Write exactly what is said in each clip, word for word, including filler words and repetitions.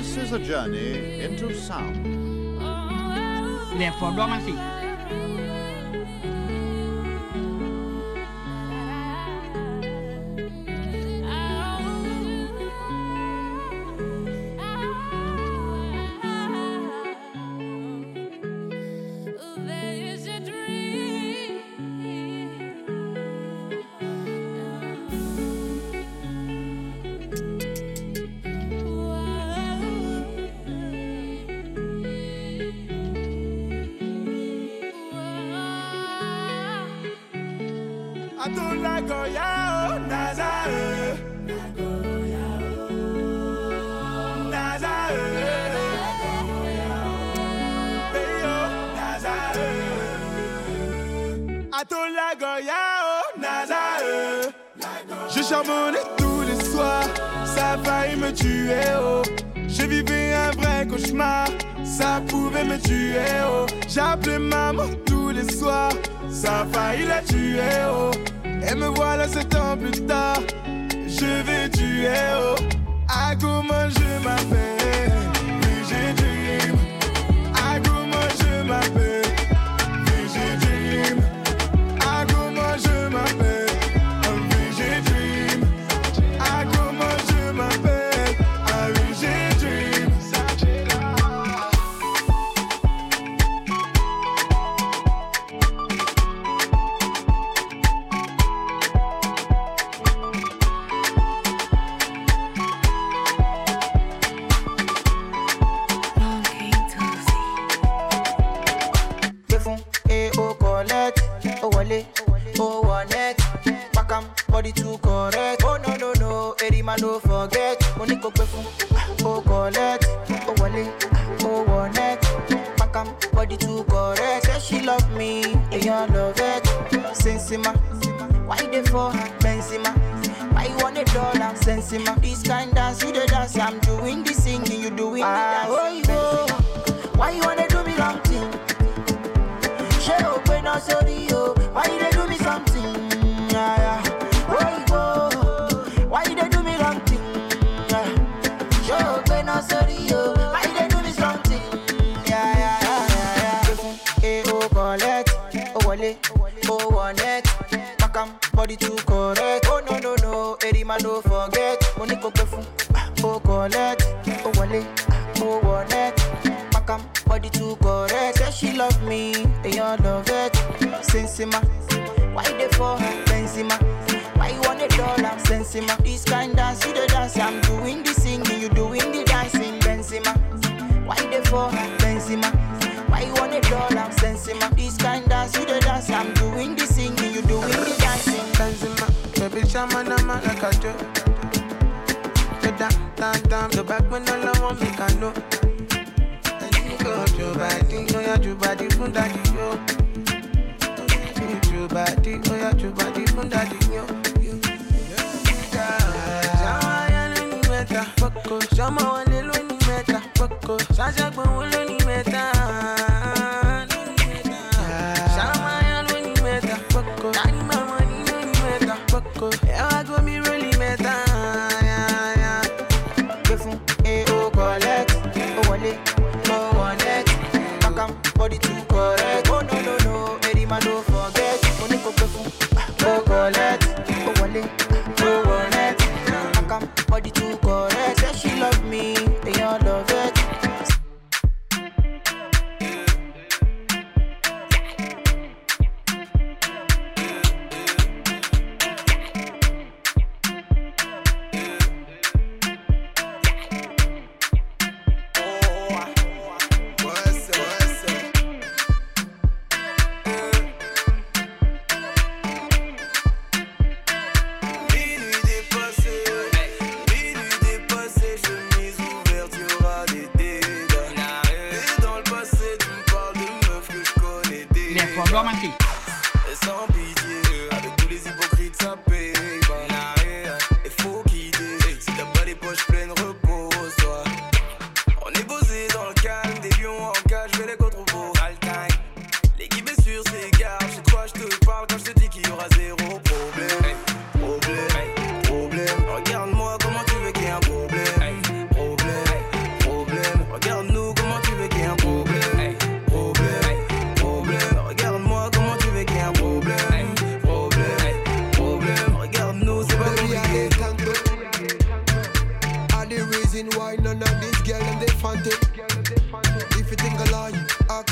This is a journey into sound. Therefore, dormancy. Je charbonnais tous les soirs, ça a failli me tuer, oh. Je vivais un vrai cauchemar, ça pouvait me tuer, oh. J'appelais maman tous les soirs, ça a failli la tuer, oh. Et me voilà sept ans plus tard, je vais tuer, oh. Ah, comment je m'appelle, Vigil Dream. Ah, comment je m'appelle, Vigil Dream. Ah, comment je m'appelle. Body too correct. Oh no no no, Erima no forget. Moniko Pefun, oh collect, oh wale, oh one Pakam, body too correct. Say she love me, and you love it. Sensima, why they for Benzema? Why you want a dollar? Sensima, this kind dance you the dance. I'm doing the singing, you doing ah, the dance. Oh, oh. Why you wanna do me wrong thing? She open up sorry yo. Why you they do me something? Yeah, yeah. Why they do me wrong thing? Show when I sorry yo. Why they do me something? Yeah yeah yeah yeah yeah. Eh oh collect, oh wale, oh one net. Pakam body too correct. Oh no no no, Erima no forget. Moniko Pefun, oh collect, oh wale, oh one net. Pakam body too correct. Say she love me, and you love it. Sensima, why they for Benzema? Why you want a dollar? Sensima, this kind dance you the dance. I'm doing the singing, you doing the dancing. Benzema, why they for Benzema? Why you want a dollar? Sensima, this kind dance you the dance. I'm doing the singing, you doing the dancing. Benzema, baby chama na ma like a joke. The damn damn damn, the back when all I want me can know. And you go to body, oh yeah, to body from daddy yo. To body, oh yeah, to body from daddy yo. Poco, chama wale lo ni meta. Poco, chacha kwa wale ni meta. Chama ya lo ni meta. Poco, nani mama ni lo ni meta. Poco, ewa go mi really meta. Yeah yeah. Pefun, eh oh collect, oh wale, oh one net. Pakam body too correct. Oh no no no, Erima no forget. Moniko Pefun, oh collect, oh wale, oh one net. Pakam body too correct. Say she love me, and you love it. Dormancy. Et sans pitié, avec tous les hypocrites ça paye. Et faut quitter, si t'as pas les poches pleines, repose-toi. On est posé dans le calme, des lions en cage, je vais les contre-beaux. All time, l'équipe est sur ses gardes. Chez toi je te parle quand je te dis qu'il y aura zéro problème. Problème, problème. Regarde-moi comment tu veux qu'il y ait un problème. Problème, problème.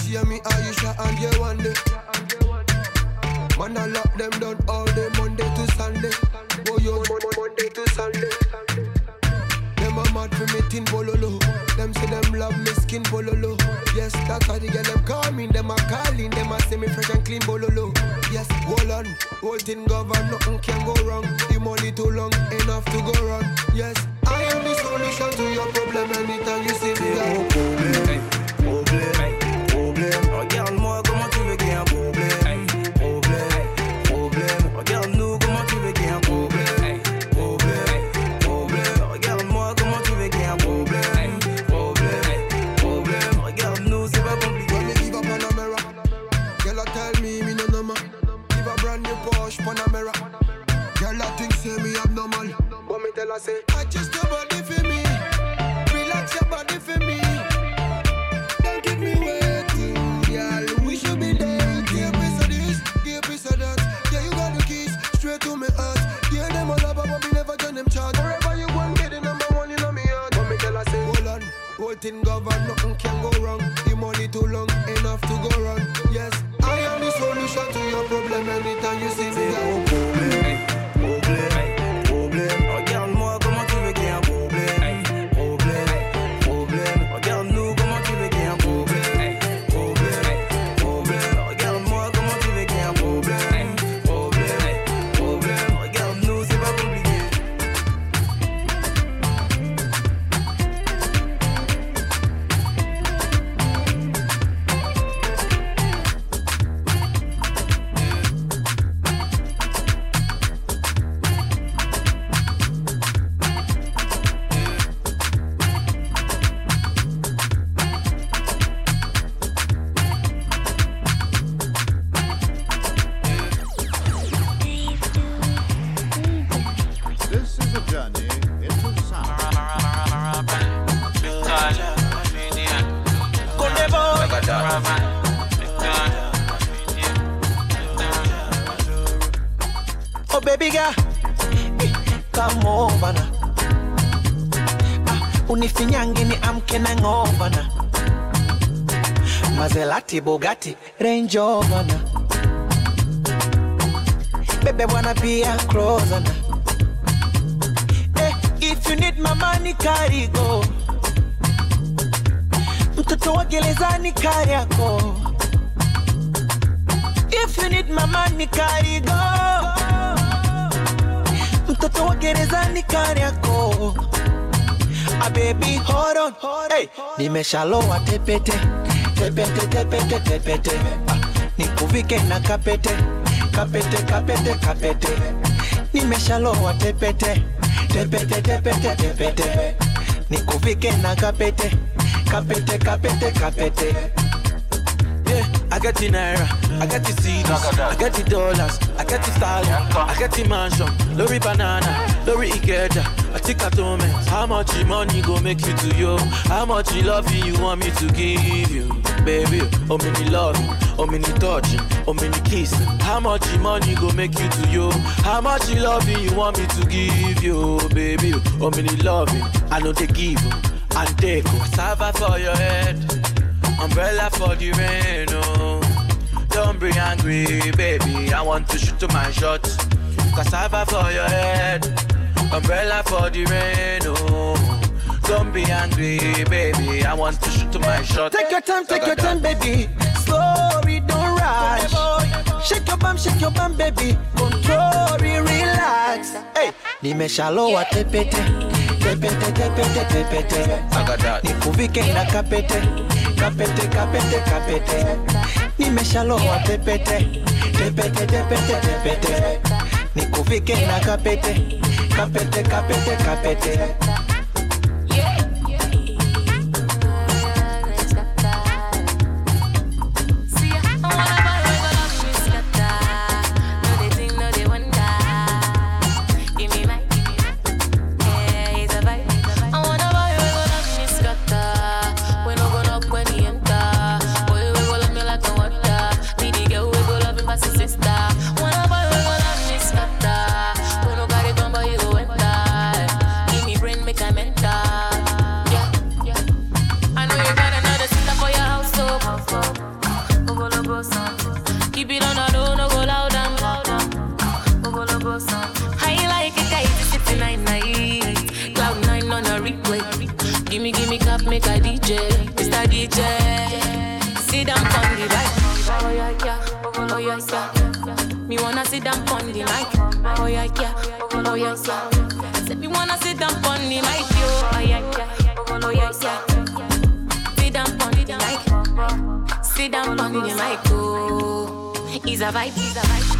hear me, Aisha, and you one day. Man, I lock them down all day, Monday to Sunday. Oh, yo, Monday to Sunday. Them a mad for me tin bololo. Them say them love me skin bololo. Yes, that's why they get them call me. Them a calling, them a say me fresh and clean bololo. Yes, hold on, whole thing govern, nothing can go wrong. The money too long, enough to go wrong. Yes, I am the solution to your problem. Anytime you see me, I will problem, problem, problem. Regarde moi comment tu veux qu'il y ait un problème, problème, problème. Regarde nous comment tu veux qu'il y ait un problème, problème, problème. Regarde moi comment tu veux qu'il y ait un problème, problème, problème. Regarde nous c'est pas compliqué. When me give up Panamera, girl I tell me me no normal. Give a brand new Porsche Panamera. Girl I think say me abnormal, but me tell her say adjust your body for me, relax your body for me. Don't keep me waiting, girl. We should be dating. Give a piece of this, give a piece of that. Yeah, you got the keys straight to me heart. Yeah, them all about but me never done them charge. Wherever you want, get the number one in me heart. But me tell her say hold on, whole thing govern, nothing can go wrong. The money too long, enough to go wrong. Yes, I am the solution to your problem. Anytime you see me, I will problem, problème, problème. Regarde-moi comment tu veux qu'il y ait un problème, problème, problème. Regarde-nous comment tu veux qu'il y ait un problème, problème, problème. Regarde-moi comment tu veux qu'il y ait un problème, problème, problème. Regarde-nous, c'est pas compliqué. This is a journey into sound. Oh baby girl, come over now. Ah, unifinyangi ni amke na ngova na. Maserati, Bugatti, Range Rover na. Baby wanna be a closer na. Eh, if you need my money carry go. Mtoto wa gerezani kari yako. If you need my money carry go. Mtoto wa gerezani kari yako. Ah baby hold on, hey, nimeshaloa tepete, tepete, tepete, tepete. Ah, nikuvike na kapete, kapete, kapete, kapete. Nimeshaloa tepete, tepete, tepete, tepete. Nikuvike na kapete, kapete, kapete, kapete. Yeah, I got the naira, I got the C Ds, I got the dollars, I got the stallion, I got the mansion, lorry banana, lorry ikeja, I take a moment. How much money go make you to you? How much love you want me to give you? Baby, oh many love, oh many touching, oh many kissing. How much money go make you to you? How much love you want me to give you? Baby, oh many loving, I know they give you, and take cassava for your head. Umbrella for the rain, oh. Don't be angry, baby. I want to shoot to my shot. Cassava for your head. Umbrella for the rain, oh. Don't be angry, baby. I want to shoot to my shot. Take your time, take your time, baby. Slowly, don't rush. Shake your bum, shake your bum, baby. Control, relax. Hey, nimeshaloa tepete, tepete, tepete, tepete. Nikuvike na kapete, kapete, kapete, kapete. Nimeshaloa tepete, tepete, tepete, tepete. Nikuvike na kapete, kapete, kapete, kapete. Make I Keep it on the low, no go loud and loud. I like it, guys, it's nine night. Cloud nine on a replay. Gimme, gimme clap, make a D J. Mister D J. Sit down on the bike. Oh yeah, yeah. Oh yeah, yeah. Me wanna sit down on the mic. Oh yeah, yeah. Oh yeah, yeah. Say me wanna sit down on the mic, yo. Oh yeah, yeah. Oh yeah, yeah. Sit down on the mic. Sit down on the mic, oh. It's a vibe, it's a vibe.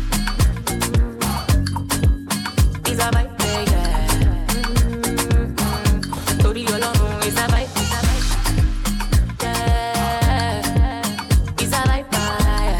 It's a vibe, yeah, yeah. Mm-hmm. Tori Olorun, it's a vibe, it's a vibe. Yeah. It's a vibe, yeah.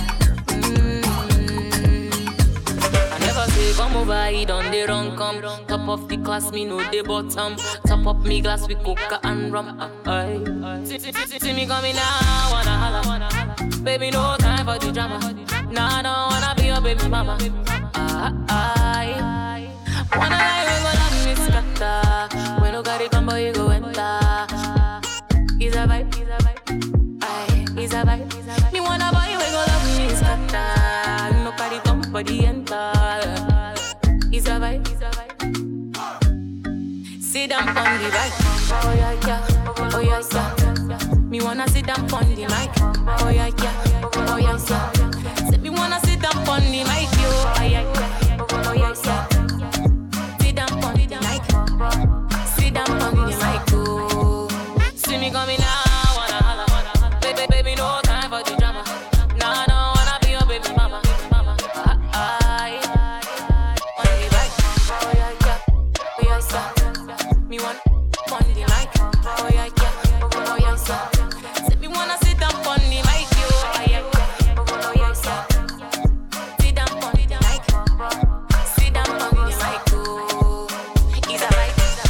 Mm-hmm. I never say come over, he done the wrong come. Top of the class, me know the bottom. Top up me glass with coca and rum. Aye. See, see, see, see me coming now, wanna holla, wanna holla. Baby, no time for the drama. Nah, I don't wanna be your baby mama. Ah, ah, wanna lie, we go love me scatter. When you got it, come boy, you go enter. It's a vibe, it's a vibe. Aye, it's a vibe. Me wanna boy, we go love me scatter. No carry come for the enter. It's a vibe, it's a vibe. Sit down on the bike. Oh yeah, yeah. Oh yeah, yeah. Me wanna sit down on the mic. Oh yeah, yeah. Oh yeah, yeah. Say me wanna sit down on the mic, yo. Oh yeah, yeah. Oh yeah, yeah. Sit down on the mic. Sit down on the mic, oh. See me coming now, wanna holla, wanna holla. Baby, baby, no time for the drama. Nah, I don't wanna be your baby mama. Mama, ah, ah, on the mic. Oh yeah, yeah. Oh yeah, yeah. Me want on the mic. Oh yeah, yeah. Oh yeah, yeah. Say me wanna sit down on the mic, yo. Oh yeah, yeah. Oh yeah, yeah. Sit down on the mic. Sit down on the mic, oh. It's a vibe, it's a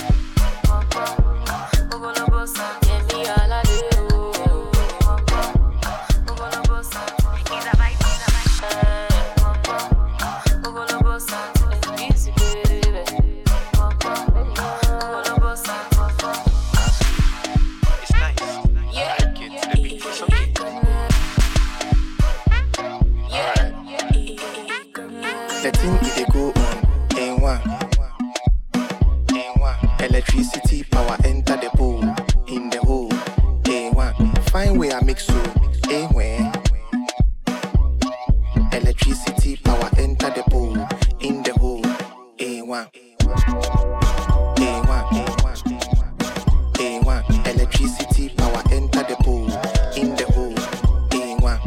vibe. Ogolobosa, yeah, me all a day, oh. Ogolobosa, it's a vibe, it's a vibe. Ogolobosa, it's easy, baby. Ogolobosa. It's nice. Yeah. I like it. The beat is okay. The thing it dey go on, in one, in one. Electricity power enter the bowl, in the hole, in one. Find where I mix so, in where. Electricity power enter the bowl, in the hole, in one, in one, in one, in one. Electricity power enter the bowl, in the hole, in one,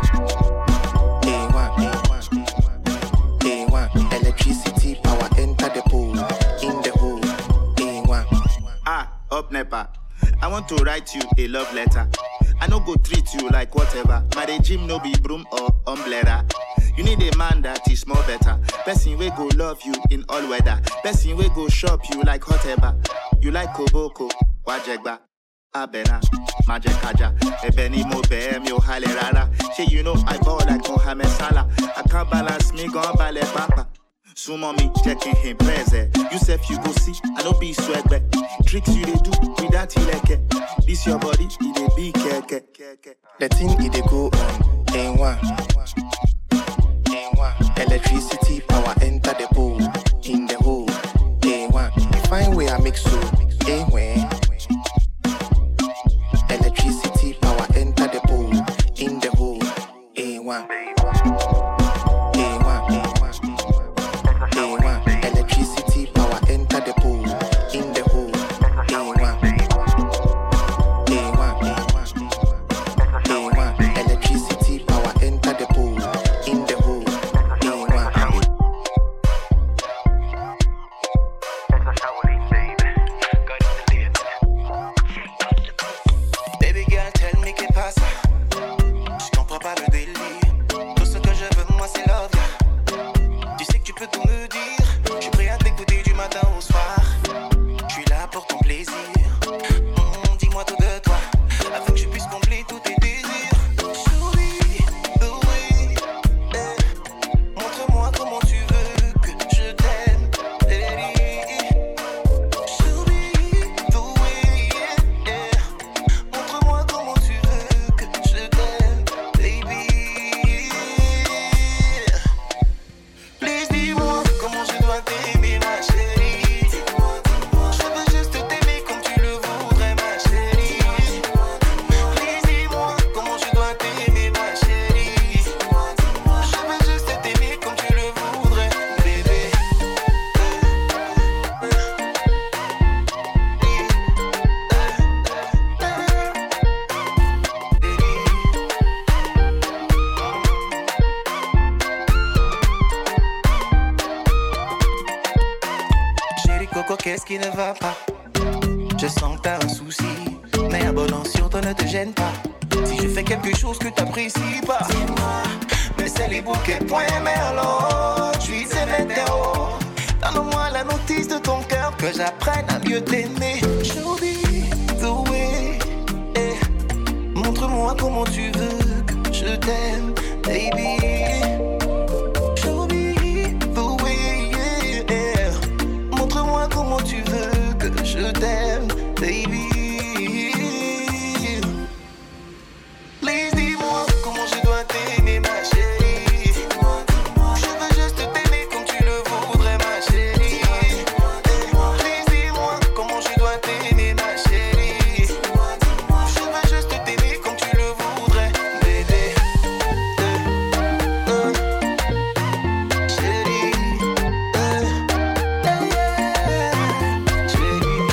in one, in one. A one, electricity power enter the pool, in the hole, A one. Ah, up Nepa. I want to write you a love letter. I no go treat you like whatever. My regime no be broom or umbrella. You need a man that is more better. Person we go love you in all weather. Person we go shop you like whatever. You like Koboko, Wajegba, Abena, Majekaja, Ebeni mo behem yo hale rara. Say you know I ball like Mohamed Salah. I can't balance me gon' ballet papa. Sumo me checking him present. You said you go see, I no be swag back. Tricks you they do without ileke. This your body, it dey be keke. The thing it dey go on, in one, in one. Electricity power enter the pool, in the hole, A one. Find where I mix so, A where. Electricity power enter the pool, in the hole, A one. A one, A one, A one. Electricity power enter the pool, in the hole, A one. A one, A one, A one. Electricity power enter the pool, in the hole, A one. Baby girl, tell me que pasa. Je comprends pas le délire. qu'est-ce qui ne va pas? Je sens que t'as un souci, mais un bon sur toi ne te gêne pas. Si je fais quelque chose que t'apprécies pas, dis-moi. Mais c'est les bouquets, point merlot. Je suis ces météos. Donne-moi la notice de ton cœur, que j'apprenne à mieux t'aimer. Show me the way. Eh. Montre-moi comment tu veux que je t'aime, baby. Show me the way. Yeah. Montre-moi comment tu veux que je t'aime, baby. Please dis-moi comment je dois t'aimer, ma chérie. Je veux juste t'aimer comme tu le voudrais, ma chérie. Please dis-moi comment je dois t'aimer, ma chérie. Je veux juste t'aimer comme tu le voudrais, bébé. Euh, euh, chérie. Euh, yeah, chérie.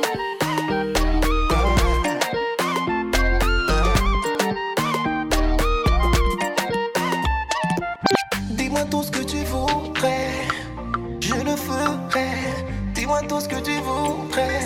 Dis-moi tout ce que tu voudrais, je le ferai. Dis-moi tout ce que tu voudrais.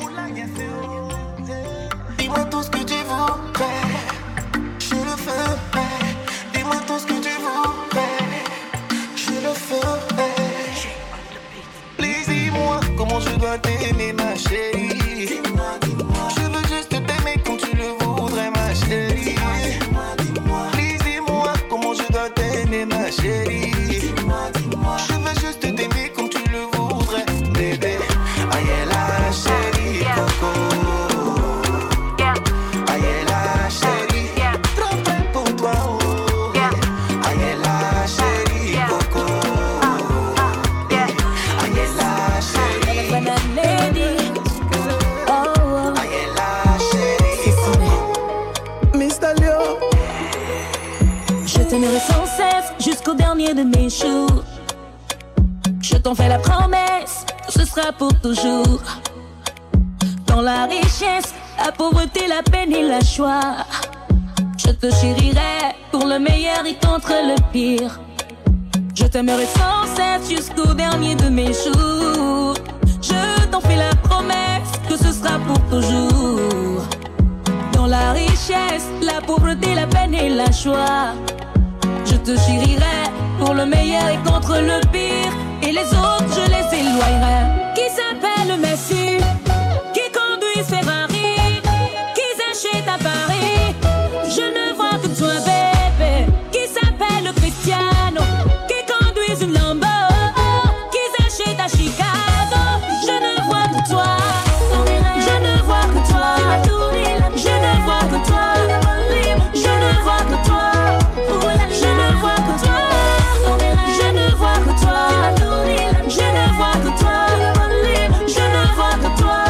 Dis-moi tout ce que tu voudrais, je le ferai. Dis-moi tout ce que tu voudrais, je le ferai. Please dis-moi comment je dois t'aimer, ma chérie. Je veux juste t'aimer comme tu le voudrais, ma chérie. Please dis-moi comment je dois t'aimer, ma chérie. Je veux juste t'aimer comme tu le voudrais, bébé. Aïe la chérie, coco. Aïe la chérie, trop près pour toi, oh. Aïe la chérie, coco. Aïe la chérie. When I'm lady, oh, Aïe la chérie. Mister Leo. je t'aimerai sans cesse jusqu'au dernier de mes jours. Je t'en fais la promesse, ce sera pour toujours. Dans la richesse, la pauvreté, la peine et la joie, je te chérirai pour le meilleur et contre le pire. Je t'aimerai sans cesse jusqu'au dernier de mes jours. Je t'en fais la promesse que ce sera pour toujours. Dans la richesse, la pauvreté, la peine et la joie, je te chérirai pour le meilleur et contre le pire. Et les autres, je les éloignerai. Qui s'appelle Messi, qui conduit Ferrari, qui s'achète à Paris. Je ne vois que toi, bébé. Qui s'appelle Cristiano, qui conduit une Lambo, qui s'achète à Chicago. Je ne vois que toi, je ne vois que toi, je ne vois que toi, je ne vois que toi, je ne vois que toi, je ne vois que toi, je ne vois que toi, je ne vois que toi,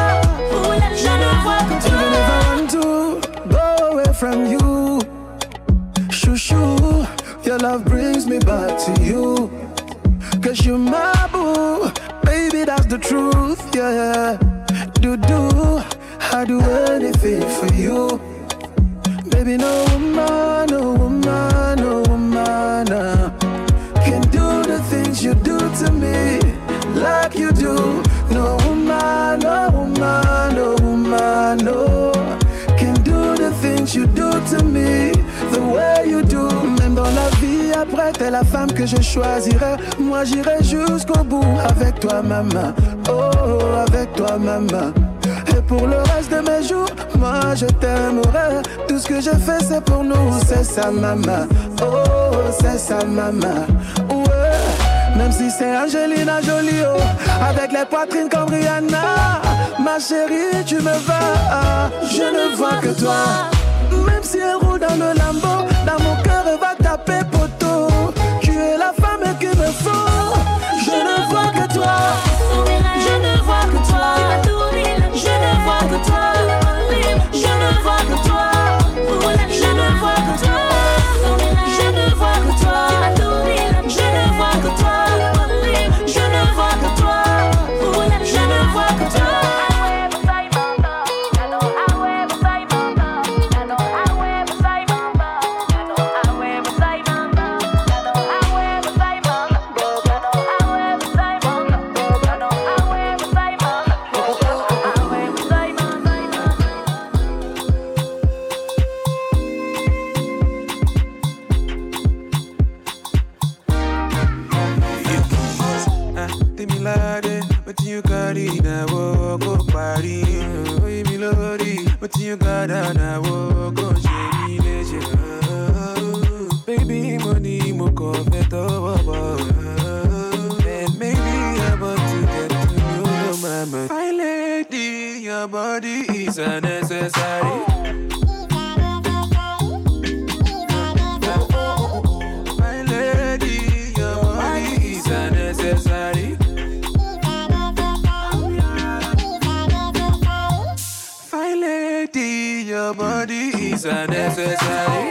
je ne vois que toi. I never want to go away from you. Shoo shoo, your love brings me back to you. Cause you're my boo, baby that's the truth, yeah. Do do, I do anything for you. Baby no woman, no woman, no woman uh, can do the things you do to me like you do. No woman, no woman, no woman, no can do the things you do to me the way you do. Même dans la vie après, t'es la femme que je choisirai. Moi j'irai jusqu'au bout avec toi maman, oh avec toi maman. Et pour le reste de mes jours, moi je t'aimerai. Tout ce que je fais c'est pour nous, c'est ça maman, oh c'est ça maman, ouais. Même si c'est Angelina Jolie, oh, avec les poitrines comme Rihanna. Ma chérie, tu me vas, je ne vois que toi. Même si elle roule dans le Lambo, dans mon cœur elle va taper poteau. Tu es la femme qu'il me faut. Je ne vois que toi, Je ne vois que toi, je ne vois que toi, je ne vois que toi, je ne vois que toi, je ne vois que toi, je ne vois que toi, je ne vois que toi, je ne vois que toi. I you carry now, go party. We be lordy, what you got on now, go shady leisure. Baby, money, mo confet over. And maybe I'm about to get to know your mama. My lady, your body is unnecessary. My lady, your body is unnecessary. My lady, your body is unnecessary.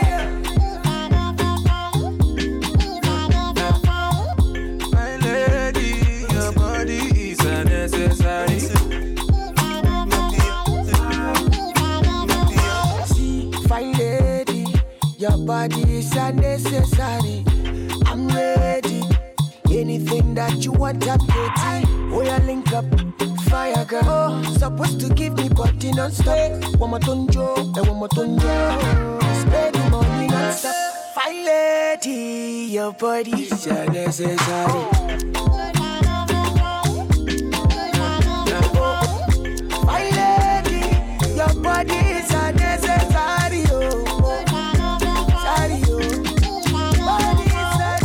My lady, your body is unnecessary. See, fine lady, your body is unnecessary. I'm ready. Anything that you want, I'm ready. Oh, yeah, link up. Fire girl, oh, supposed to give me body non-stop. One more tonjo, and one more tonjo. Spend the money non-stop. Fine lady, your body is unnecessary. Fine lady, your body is unnecessary. Oh, sorry, oh. Body is unnecessary.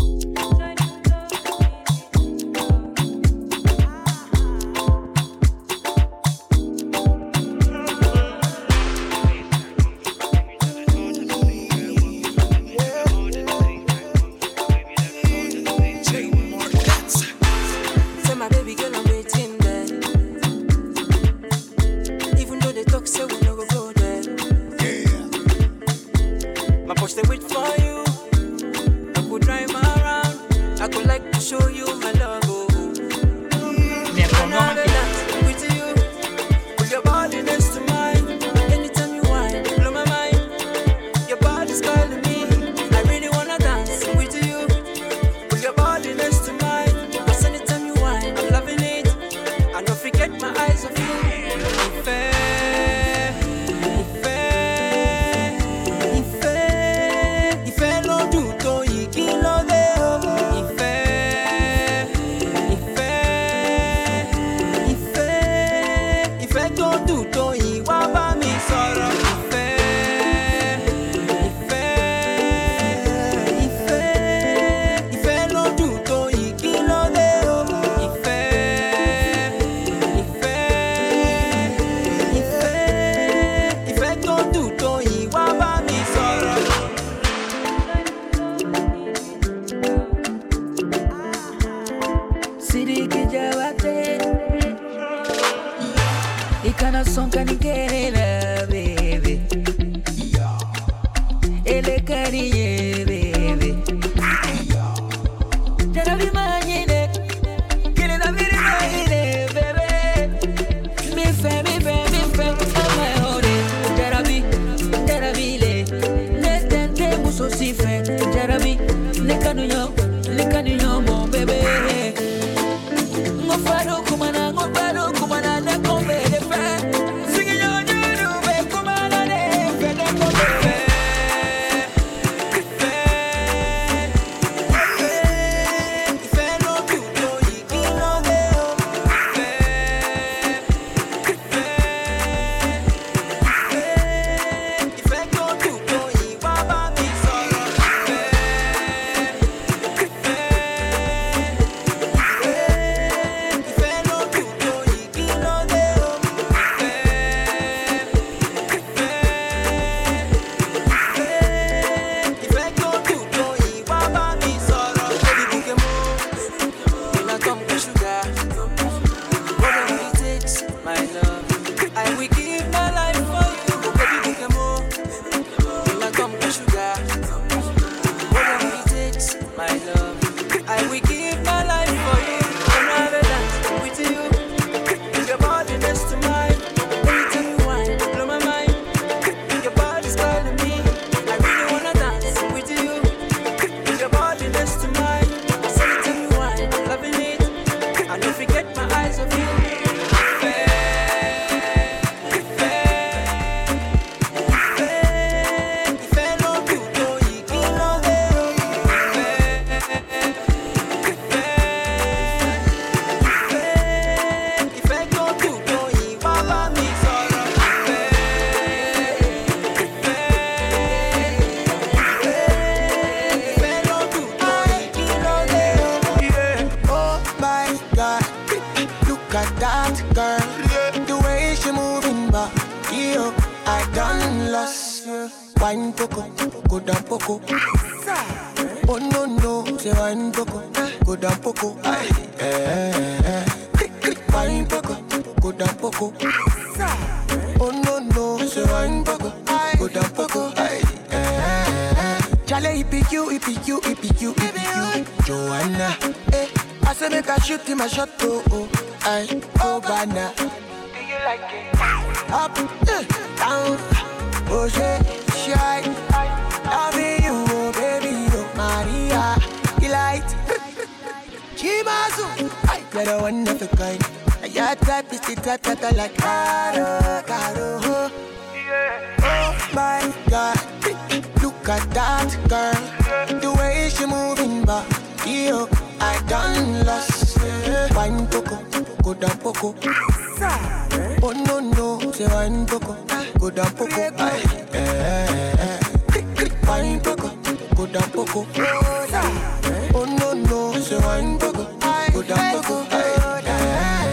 poco, go down poco. Oh no no, say wine poco, go down poco. Aye, eh, eh, eh. Wine poco, go down poco. Oh no no, say wine poco, go down poco. Aye, eh, eh. Chale, E P Q, E P Q, E P Q, E P Q. Joanna, eh, I say make a shoot in my shot, oh, oh, aye, oh, banana. Do you like it? Up, uh, down, oh, shit, shy. Loving you, oh, baby, oh, Maria, delight. Chimazu, you're the one of a kind. Your type is the type that I like. Caro, caro, oh, oh my God. Look at that girl, the way she moving back. Yo, I done lost. Wine poco, go down poco. Oh no no, say wine poco, go down poco. Aye, eh, eh. Wine poco, go down poco. Oh no no, say wine poco, go down poco. Aye, eh, eh.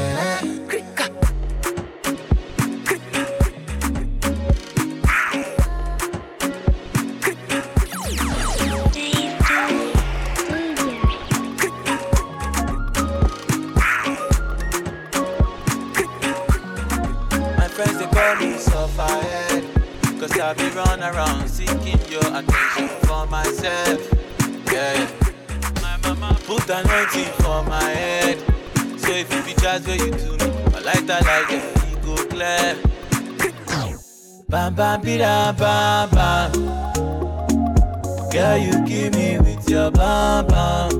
Cause I've been run around seeking your attention for myself. Yeah, my mama put anointing for my head. So if you be just where you do me, I like that like it, you go clear. Bam bam bida bam bam. Girl, you give me with your bam bam.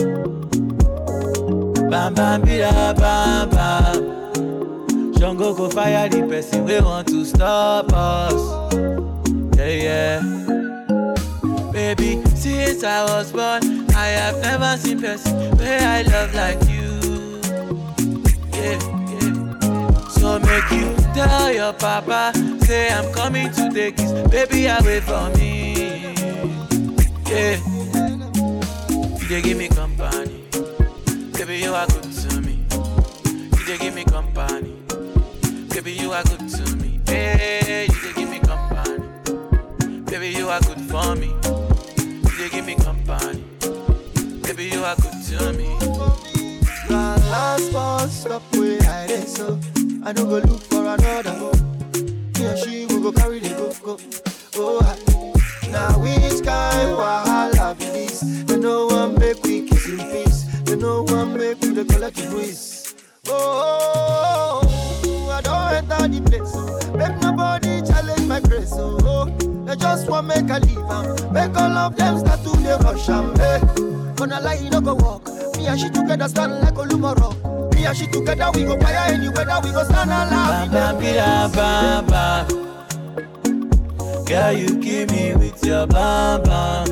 Bam bam bida bam bam. Jungle go fire the person we want to stop us. Yeah, yeah. Baby, since I was born, I have never seen person where I love like you. Yeah, yeah. So make you tell your papa, say I'm coming to take his baby away from me. Yeah. You dey give me company. Baby, you are good to me. You dey give me company. Baby, you are good to me. Hey, you dey give me company. Baby, you are good for me. You dey give me company. Baby, you are good to me. My last bus stop where I dey so I don't go look for another. He or she will go carry the go go. Oh, I, now which kind wahala be this? They no one make we kiss in peace. They no one make we the collect the breeze. Oh. I don't enter the place, so make nobody challenge my grace, so oh, they just want make a leave, um, make all of them start to the rush, um, hey. Gonna lie, you no go walk, me and she together stand like Olumoro, me and she together we go fire anywhere that we go stand alive. Bam bam bam bam. Girl, you give me with your bam bam.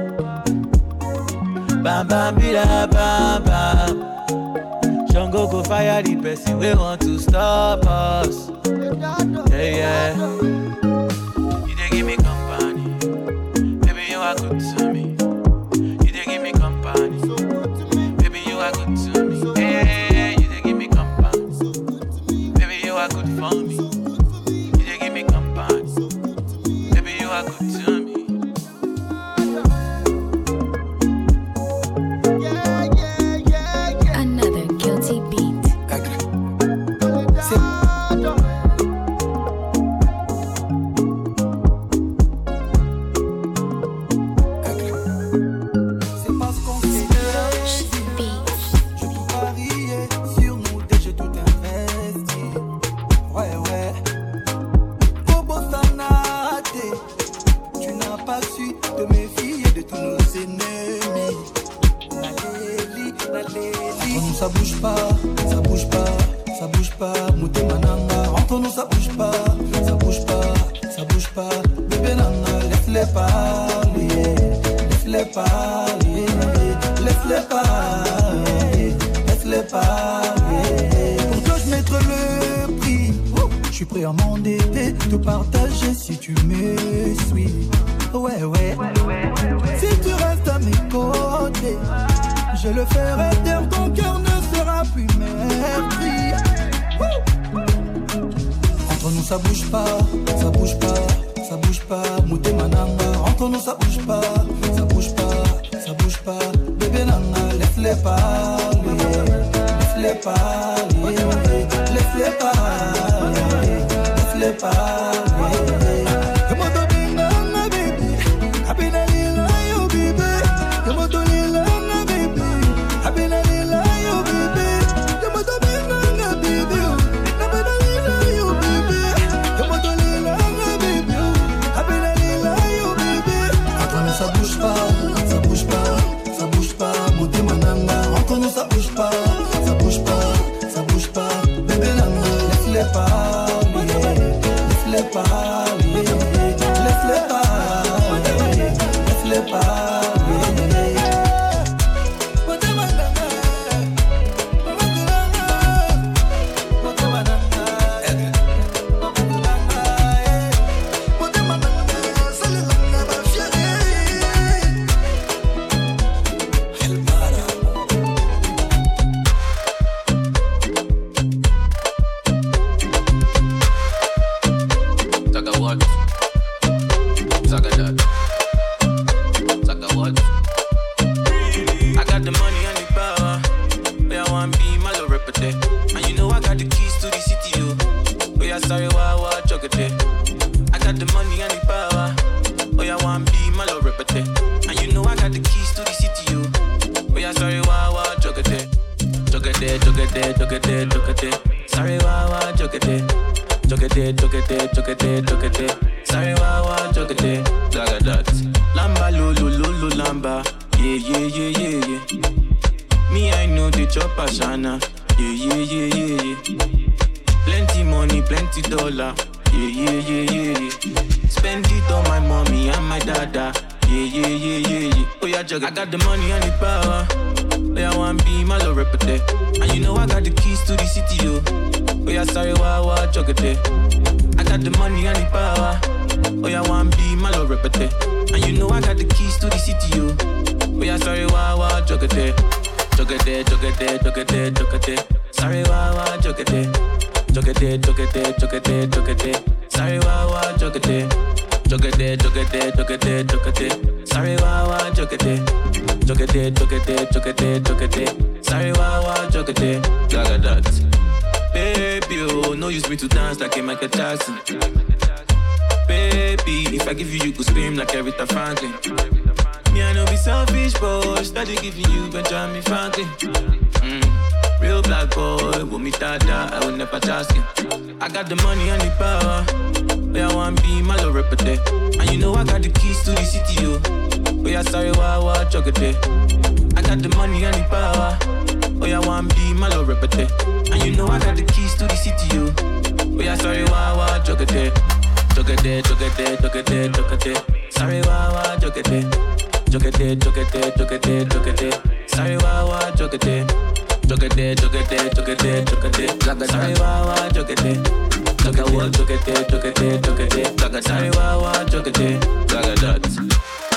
Bam bam bam bam bam. Jungle go fire the person we want to stop us. Yeah, yeah. You dey give me company. Baby, you are good to me. You dey give me company. Baby, you are good to me. Hey, you dey give me company. Baby, you are good for me. You dey give me company. Baby, you are good to me. Ça bouge pas, ça bouge pas, ça bouge pas, Mouté Mananga. Entre nous ça bouge pas, ça bouge pas, ça bouge pas. Bébé Nana, laisse-les parler, laisse-les parler, laisse-les parler, laisse-les parler. Pour toi je mettrai le prix, je suis prêt à m'endetter, te partager si tu me suis. Ouais, ouais, si tu restes à mes côtés, je le ferai taire, ton cœur ne sera plus meurtri. Entre nous ça bouge pas, ça bouge pas, ça bouge pas, Mouté Mananga. Entre nous ça bouge pas, ça bouge pas, ça bouge pas. Bébé nana, laisse-les parler, laisse-les parler, laisse-les parler, laisse-les parler. Ça bouge pas, ça bouge pas, ça bouge pas. Bébé nana, laisse-les parler, laisse-les parler, laisse-les parler, laisse-les parler. I got the money and the power. Oh, yeah, one be my low repete. And you know I got the keys to the city, yo. Oh, yeah, sorry, wow, wow, chokete. I got the money and the power. Oh, yeah, one be my low repete. And you know I got the keys to the city, yo. Oh, yeah, sorry, wow, wow, chokete. Chokete, chokete, chokete, chokete. Sorry, wow, wow, chokete. Chokete, chokete, chokete, chokete. Sorry, wow, wow, chokete. Chokete, chokete, chokete, chokete. Sorry, wow, wow, chokete. Chokete, chokete, chokete, chokete. Sorry, wow, wow, chokete. Gaga that. Baby, oh, no use me to dance like a Michael Jackson. Baby, if I give you, you could scream like Aretha Franklin. Me, I know be selfish, but steady giving you Benjamin Franklin. Mm. Real black boy, with me dada, I will never ask him. I got the money and the power. Oh, yeah, one be my low repete. And you know I got the keys to the city, yo. Oh, yeah, sorry, wow, wow, chokete. I got the money and the power. Oh, yeah, one be my low repete. And you know I got the keys to the city, yo. Oh, yeah, sorry, wow, wow, chokete. Chokete, chokete, chokete, chokete. Sorry, wow, wow, chokete. Chokete, chokete, chokete, chokete. Sorry, wow, wow, chokete. Chokete, chokete, chokete, chokete. Sorry, wow, wow, chokete. Chokete, chokete, chokete, chokete. Sorry, wow, wow, chokete. Gaga that.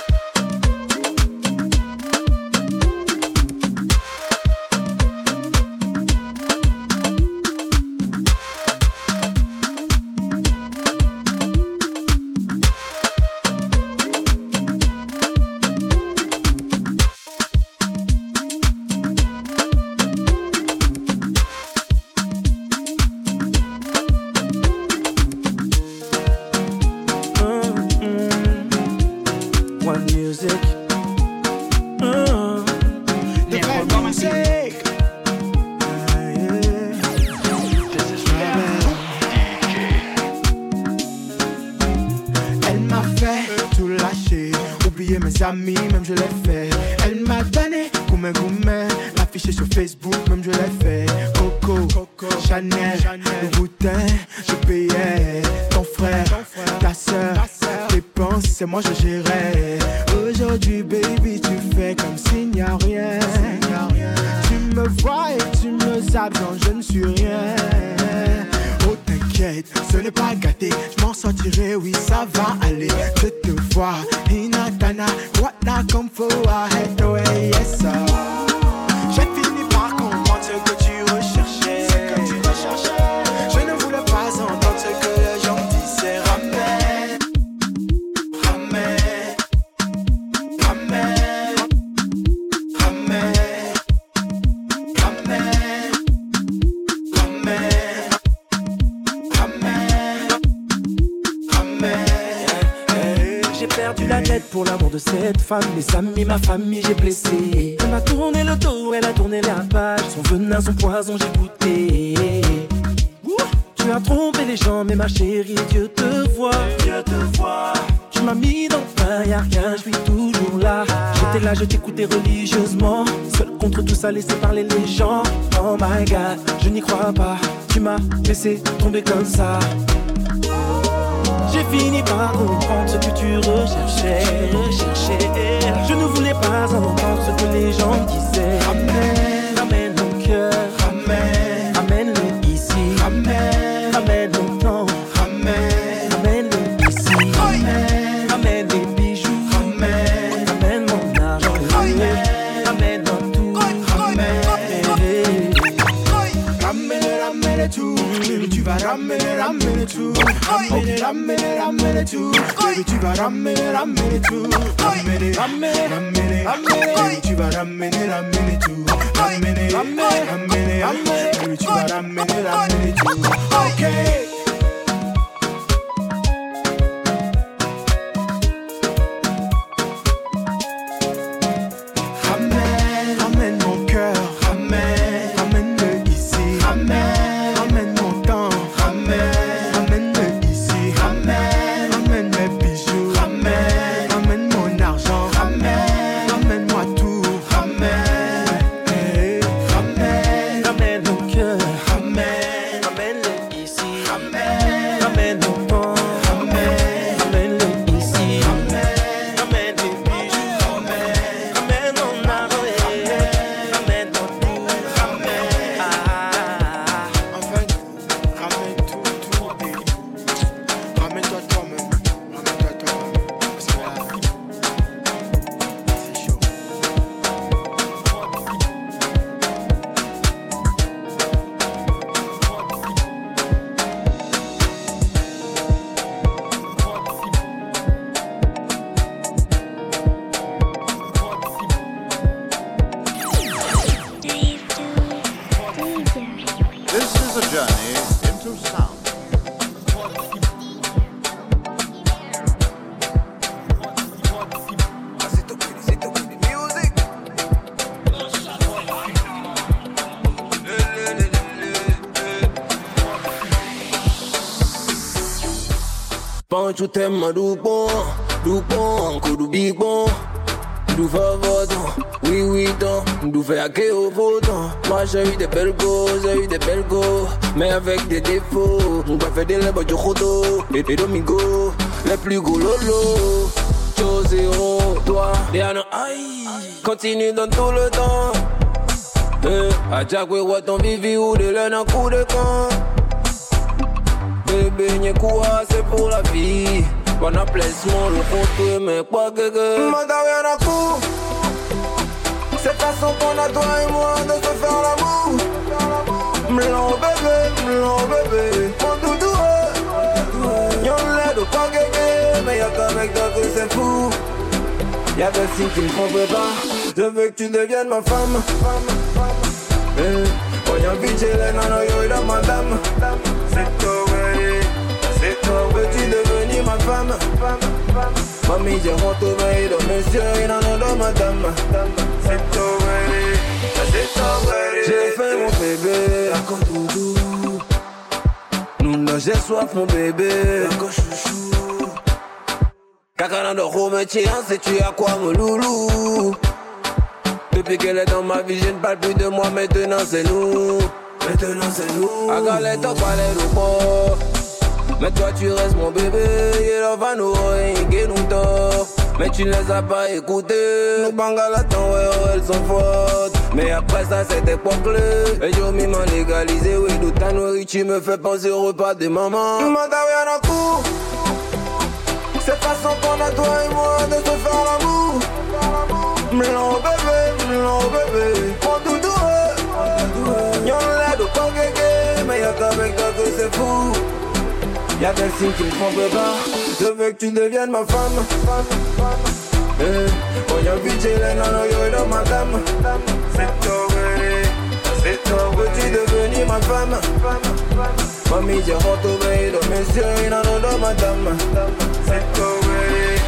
Amis, même je l'ai fait. Elle m'a donné goumé goumé, l'afficher sur Facebook, même je l'ai fait. Coco, Coco Chanel, le boutin, je payais. Ton frère, ta soeur, tes dépenses, c'est moi je gérais. Aujourd'hui, baby, tu fais comme s'il n'y a rien. Tu me vois et tu me zappes, non, je ne suis rien. Oh, t'inquiète, ce n'est pas gâté, je m'en sortirai, oui, ça va aller. Je te vois, Hinatana, what I come for, I had no way, yes, sir. J'ai fini par comprendre ce que tu recherchais. Ce que tu recherchais. Je ne voulais pas entendre ce que les gens disaient. Ramène, ramène, cette femme. Mes amis, ma famille, j'ai blessé. Elle m'a tourné le dos, elle a tourné la page. Son venin, son poison, j'ai goûté. Ouh, tu as trompé les gens, mais ma chérie, Dieu te voit. Dieu te voit. Tu m'as mis dans le pain, y'a rien, je suis toujours là. J'étais là, je t'écoutais religieusement. Seul contre tout ça, laisser parler les gens. Oh my God, je n'y crois pas. Tu m'as laissé tomber comme ça. J'ai fini par comprendre ce que tu recherchais, recherchais. Je ne voulais pas entendre ce que les gens disaient. Ramène, ramène mon cœur. Ramène, ramène-le ici. Ramène, ramène mon temps. Ramène, ramène-le ici. Ramène, ramène les bijoux. Ramène, ramène mon argent. Ramène, ramène-moi tout. Ramène, ramène, ramène tout. Baby, tu vas ramener, ramener tout. Ramener, ramener, ramener tout. Baby, tu vas ramener, ramener tout. Ramener, ramener, ramener, ramener. Baby, tu vas ramener, ramener tout. Ramener, ramener, ramener, ramener. Baby, tu vas ramener, ramener tout. Ok. Ramène, ramène mon cœur. Ramène, ramène-le ici. Ramène. Tu t'aimes du bon, du bon, encore du big bon, du favotant, oui oui tant, du fait à qui au votant. Moi j'ai eu des belles go, j'ai eu des belles go, mais avec des défauts. On va faire des lèvres du rodo, et des domingos, les plus gros lolo. Chose zéro, toi, Diana, aïe, continue dans tout le temps. Eh, à chaque fois ton vivi ou de l'un en coup de camp. Bébé, n'y quoi, c'est pour la vie. Bon placement, le compte, mais quoi que que. Manda rien à coup. Cette façon qu'on a toi et moi de se faire l'amour. M'l'en bébé, m'l'en bébé. Mon doudou, y'en l'air de pas gagner. Mais y'a qu'un mec d'un coup, c'est fou. Y'a des signes qui me trompent pas. Je veux que tu deviennes ma femme. Eh, voyons vite, j'ai les nanos, yo, dans madame. C'est toi. C'est toi, veux-tu devenir ma femme? Mamie, j'ai retrouvé de monsieur, il en a de madame. C'est toi, c'est toi, j'ai fait mon bébé. D'accord, doudou. Nous, j'ai soif, mon bébé. D'accord, chouchou. Kakana de remettre, c'est tu à quoi, mon loulou? Depuis qu'elle est dans ma vie, je ne parle plus de moi, maintenant c'est nous. Maintenant c'est nous. À galette, on parlait de quoi? Mais toi tu restes mon bébé, il va nous ringuer nous tort. Mais tu ne les as pas écoutés. Nous bangalatons, ouais, oh, elles sont fortes. Mais après ça c'était pas clé. Et j'ai mis m'en légalisé, oui, d'où ta nourriture me fait penser au repas de maman. Nous m'en rien en cours. Cette façon qu'on a toi et moi de se faire l'amour. M'l'en bébé, m'l'en bébé. Mon doudou, y'en l'air de pas guéguer. Mais y'a qu'un mec toi que c'est fou. Y'a des signes qui me trompent pas. Je veux que tu deviennes ma femme. Eh, voyons vite, j'ai les nanos, yo, dans madame. C'est toi, c'est toi, veux-tu devenir ma femme? Mamie, j'ai retrouvé de monsieur, il en a de madame. C'est toi,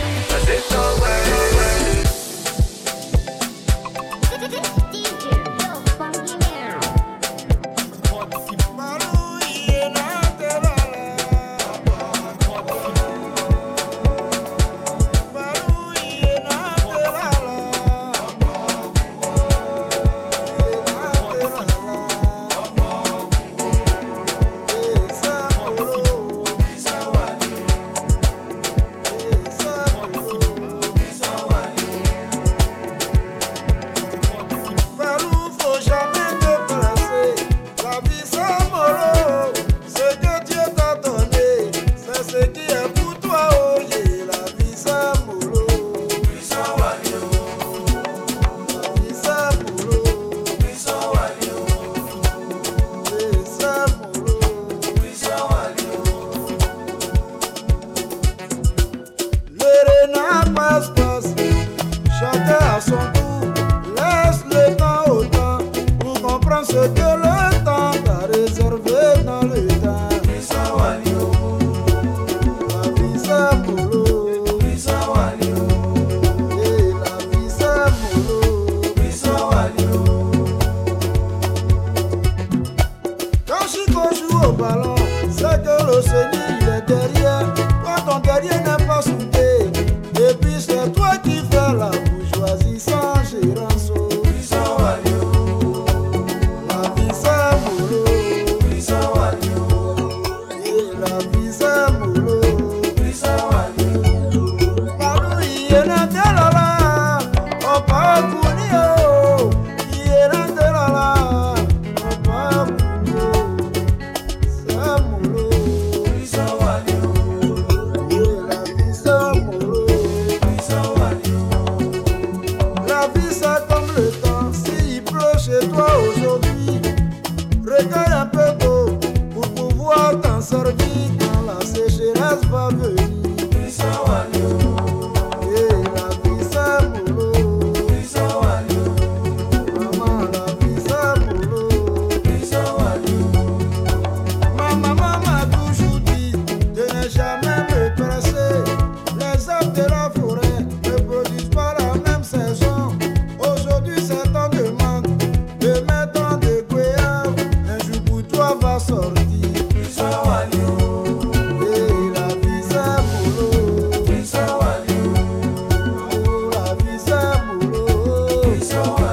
So